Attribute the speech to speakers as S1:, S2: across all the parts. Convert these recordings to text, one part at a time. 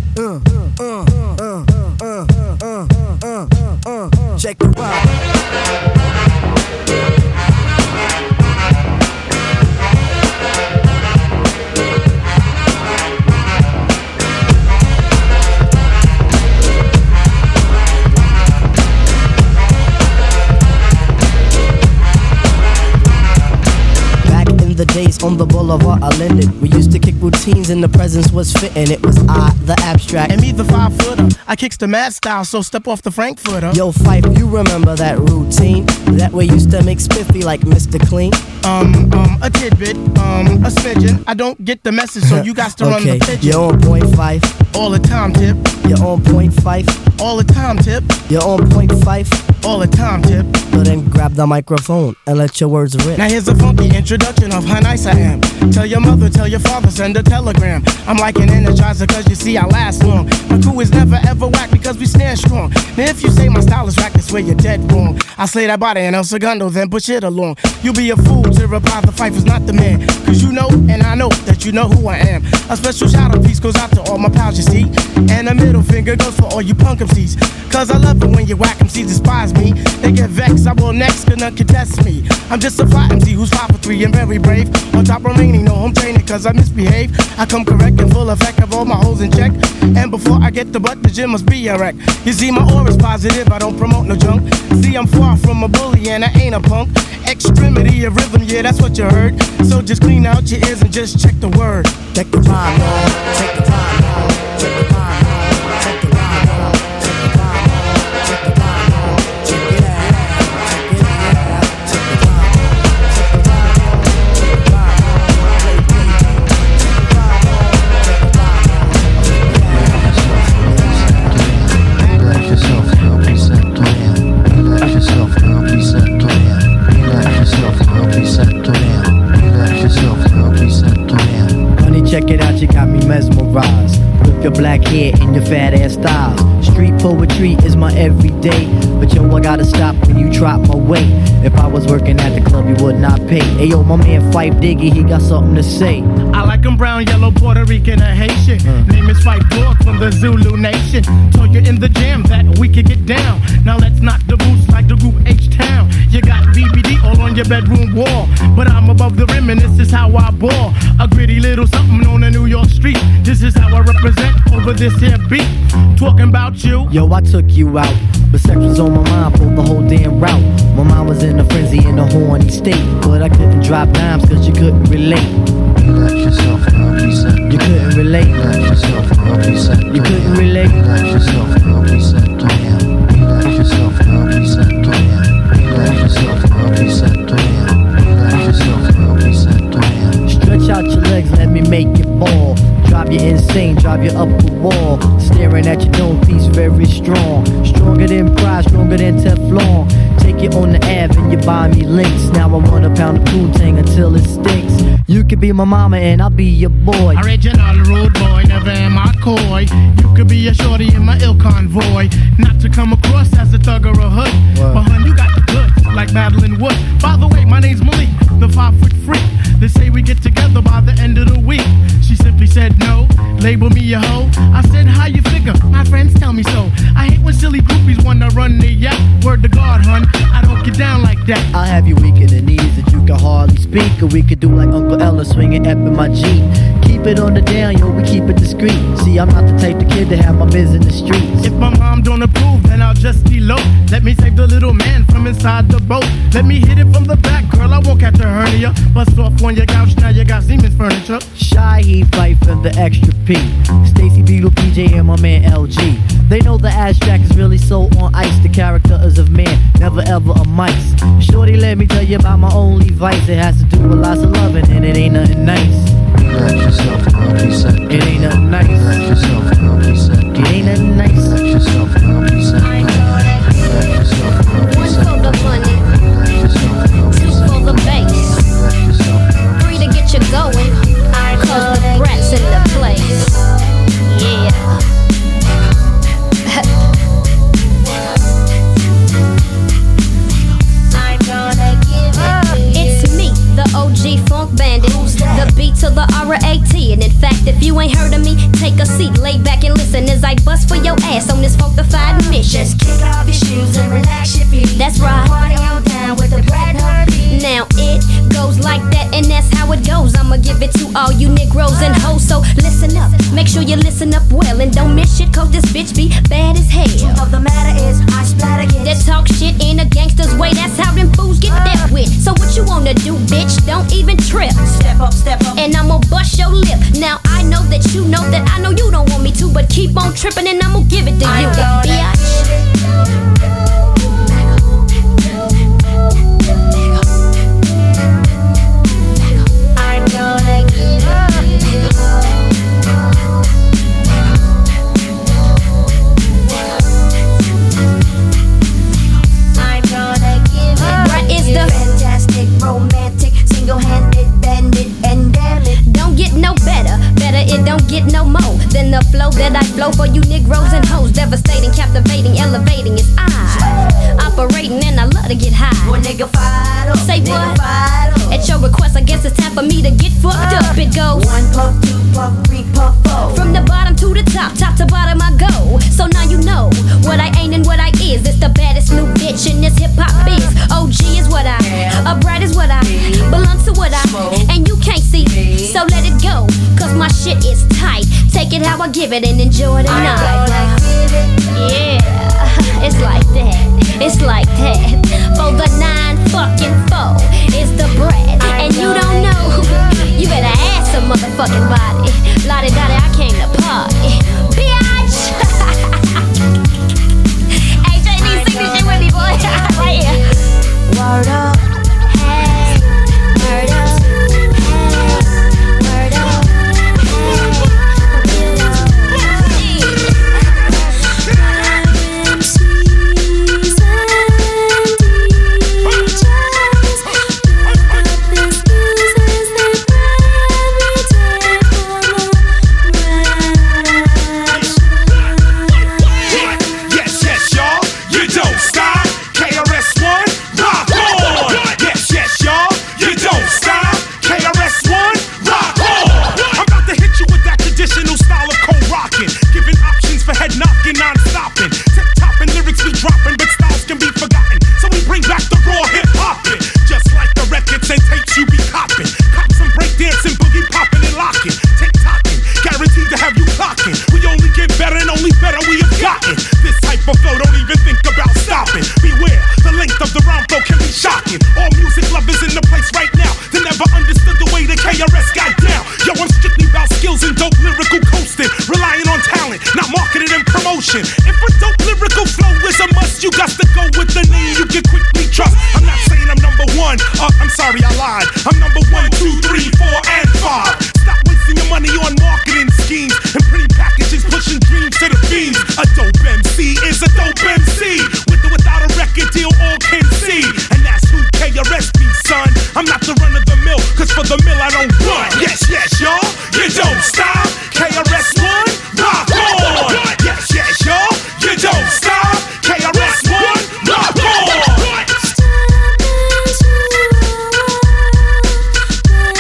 S1: Check the ride. The days on the boulevard are lended. We used to kick routines and the presence was fitting. It was I, the abstract,
S2: and me, the 5-footer. I kicks the mad style, so step off the Frankfurter.
S1: Yo, Fife, you remember that routine? That way used to make spiffy like Mr. Clean.
S2: A tidbit, a smidgen. I don't get the message, so you got to run the pigeon.
S1: You're on point, Fife.
S2: All the time, Tip.
S1: You're on point, Fife.
S2: All the time, Tip.
S1: You're on point, Fife.
S2: All the time, Tip.
S1: So then grab the microphone and let your words rip.
S2: Now here's a funky introduction of how nice I am. Tell your mother, tell your father, send a telegram. I'm like an energizer cause you see I last long. My crew is never ever whack because we stand strong. Now if you say my style is whack, that's where you're dead wrong. I slay that body in El Segundo, then push it along. You be a fool to reply the Fife is not the man. Cause you know and I know that you know who I am. A special shout out piece goes out to all my pals you see. And a middle finger goes for all you punk MCs. Cause I love it when you whack MCs despise me. They get vexed, I will next, gonna contest me. I'm just a fly MC who's 5 for 3 and very brave. On top remaining, no home training cause I misbehave. I come correct and full effect of all my hoes in check. And before I get the butt, the gym must be a wreck. You see my aura's positive, I don't promote no junk. See I'm far from a bully and I ain't a punk. Extremity of rhythm, yeah that's what you heard. So just clean out your ears and just check the word.
S1: Check the rhyme, y'all. Check the rhyme, y'all. Check the rhyme, y'all. Check the rhyme, y'all. Check the rhyme, y'all. Check the rhyme, y'all. Check it out. Check it out. Check the rhyme, y'all. Check the rhyme, y'all. Check the rhyme, y'all. Play beat. Check the rhyme, y'all. Check the rhyme, y'all.
S3: Relax yourself, girl, please settle down. Relax yourself, girl, please settle down. Relax yourself, girl, please settle down. Relax yourself, girl, please settle down.
S1: Honey, check it out, you got me mesmerized. With your black hair and your fat ass styles. Street poetry is my everyday. But yo, I gotta stop when you drop my weight. If I was working at the club, you would not pay. Hey yo, my man Fife Diggy, he got something to say.
S2: I like him brown, yellow, Puerto Rican, or Haitian. Name is Fife Dog from the Zulu Nation. Told you in the jam that we could get down. Now let's knock the boots like the group H-Town. You got BBD all on your bedroom wall. But I'm above the rim and this is how I ball. A gritty little something on a New York street. This is how I represent over this here beat. Talking about you.
S1: Yo, I took you out, but sex was on my mind for the whole damn route. My mind was in a frenzy in a horny state, but I couldn't drop dimes cause you couldn't relate.
S3: Relax yourself, girl, please settle down.
S1: You couldn't relate.
S3: Relax yourself, girl, please settle down.
S1: You couldn't relate.
S3: Relax yourself, girl, please settle down. Relax yourself, girl, please settle down. Relax yourself, girl, please settle down. Relax yourself, girl, please settle down.
S1: Stretch out your legs, let me make it ball. Drive you insane, drive you up the wall. Staring at your dome piece, very strong. Stronger than pride, stronger than Teflon. Take it on the Ave and you buy me links. Now I want a pound of Poontang until it stinks. You could be my mama and I'll be your boy.
S2: Original rude boy, never am I coy. You could be a shorty in my ill convoy. Not to come across as a thug or a hood. But hun, you got the goods, like Madeline Wood. By the way, my name's Malik, the 5-foot freak. They say we get together by the end of the week. She simply said no, label me a hoe. I said, how you figure? My friends tell me so. I hate when silly groupies wanna run the yak. Word to God, hun, I don't get down like that.
S1: I'll have you weak in the knees that you can hardly speak. Or we could do like Uncle Ella swinging up in my Jeep. Keep it on the down, yo, we keep it discreet. See, I'm not the type of kid to have my biz in the streets.
S2: If my mom don't approve, then I'll just elope. Let me save the little man from inside the boat. Let me hit it from the back, girl, I won't catch a hernia. Bust off on your couch, now you got Siemens furniture.
S1: Shy, he Fife and the extra P. Stacy Beetle, PJ, and my man LG. They know the abstract is really so on ice. The character is of man, never ever a mice. Shorty, let me tell you about my only vice. It has to do with lots of loving and it ain't nothing nice.
S3: Relax yourself, girl, please settle down.
S1: It ain't nothing nice.
S3: Relax yourself, girl, please settle down.
S1: It ain't nothing nice.
S3: Relax yourself, girl, please settle down. Relax yourself, girl, please settle down.
S4: 1 for the money,
S3: Relax yourself, girl,
S4: 2
S3: please settle
S4: for the
S3: down.
S4: bass,
S3: Relax yourself, girl,
S4: 3 to get you going. Cause the brat's in the place. Yeah. It's me, the OG funk bandit. The beat to the R-A-T. And in fact, if you ain't heard of me, seat, lay back and listen as I bust for your ass on this fortified mission.
S5: Just kick off your shoes and relax your feet.
S4: That's right.
S5: Party on down with the Brad Heartbeat.
S4: Now it goes like that, and that's how it goes. I'ma give it to all you Negroes and hoes, so listen up. Make sure you listen up well and don't miss shit, cause this bitch be bad as hell.
S5: Truth of the matter is, I splatter kids
S4: That talk shit in a gangster's way, that's how them fools get dealt with. So what you wanna do, bitch? Don't even trip.
S5: Step up,
S4: And I'ma bust your lip. Now I know that you know that I know you don't want me to, but keep on tripping and I'ma give it to you, bitch.
S5: fantastic, romantic, single-handed, bandit, and damn it,
S4: don't get no better, it don't get no more than the flow that I flow for you Negroes and hoes. Devastating, captivating, elevating, it's I operating and I love to get high.
S5: Boy, nigga, fired up.
S4: Say
S5: nigga,
S4: what?
S5: fired up.
S4: At your request, I guess it's time for me to get fucked up. It goes
S5: 1 puff, 2 puff, 3 puff, 4.
S4: from the bottom to the top to bottom I go. So now you know what I ain't and what I is. It's the baddest new bitch in this hip hop biz. OG is what I, a bright is what I, belong to what I, and you can't see. So let it go, cause my shit is tight. Take it how I give it and enjoy the night. Yeah, it's like that. It's like that. For the 9-fucking-4, it's the bread. And you don't know, you better ask some motherfucking body. Lottie-dottie, I came to party. Bitch! Hey, JD, sing this shit with me, boy. Right here.
S5: Word up.
S4: Hey, word up. Hey, word up.
S6: If a dope lyrical flow is a must, you got to go with the name you can quickly trust. I'm not saying I'm number one. I'm sorry, I lied. I'm number 1, 2, 3, 4, and 5. Stop wasting your money on marketing schemes and pretty packages pushing dreams to the fiends. A dope MC is a dope MC. With or without a record deal, all can see. And that's who KRS be, son. I'm not the run of the mill, cause for the mill I don't run. Yes, yes, y'all. You don't stop. KRS-One, rock on. Yes, yes, y'all. You don't stop. KRS-One, rock on.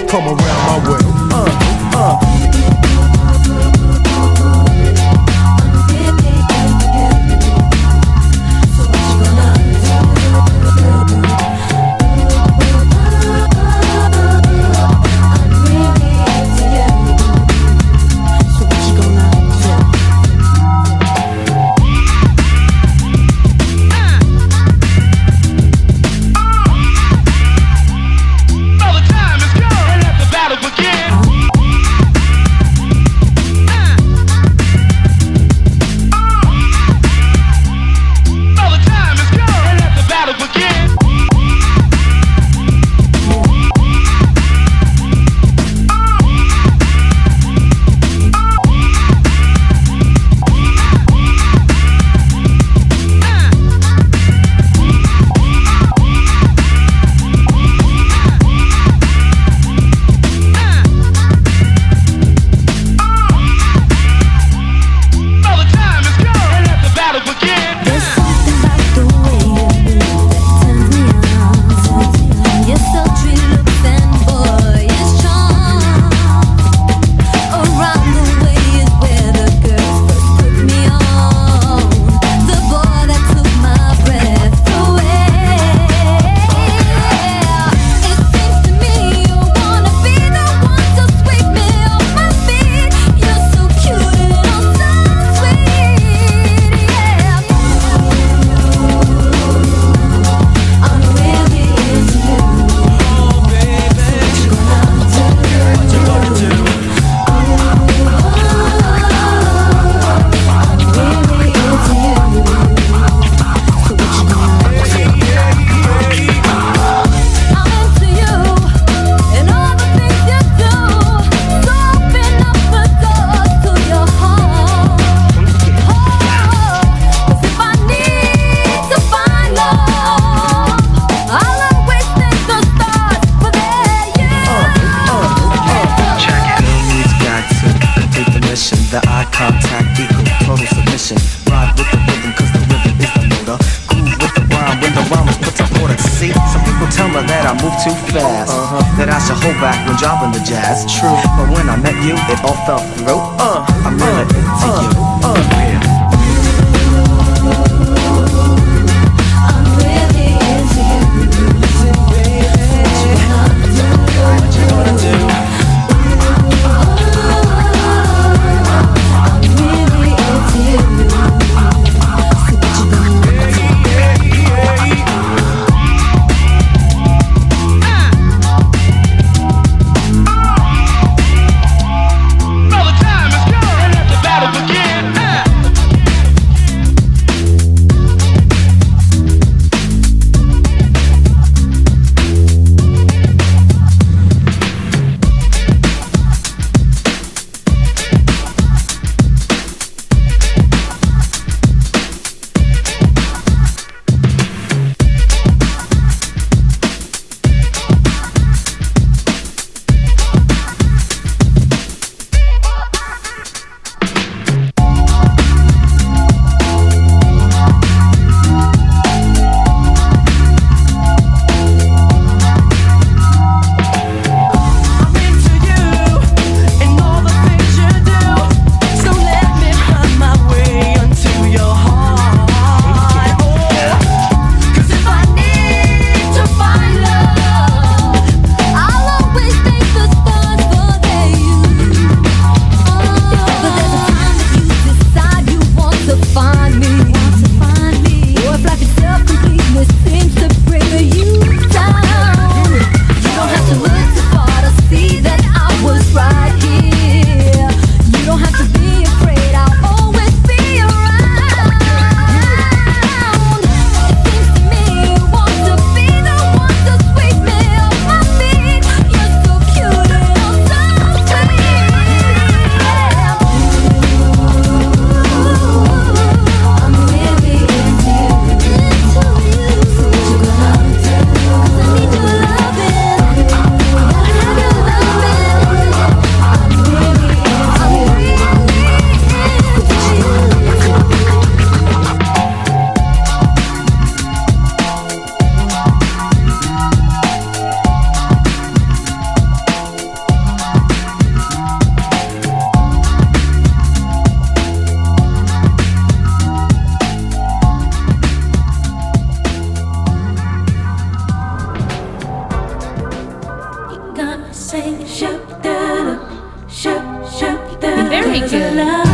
S7: come around my way.
S8: That I should hold back when dropping the jazz. True, but when I met you, it all fell through. I'm really into you.
S9: Battle begin.
S7: Cause I love